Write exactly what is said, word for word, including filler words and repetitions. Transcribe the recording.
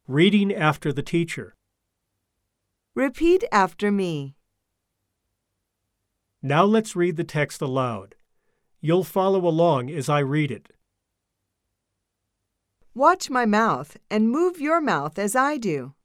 Reading after the teacher. Repeat after me. Now let's read the text aloud. You'll follow along as I read it. Watch my mouth and move your mouth as I do.